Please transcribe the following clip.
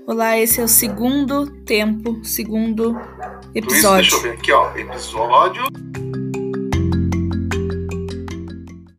Olá, esse é o segundo episódio. Deixa eu ver aqui, ó. Episódio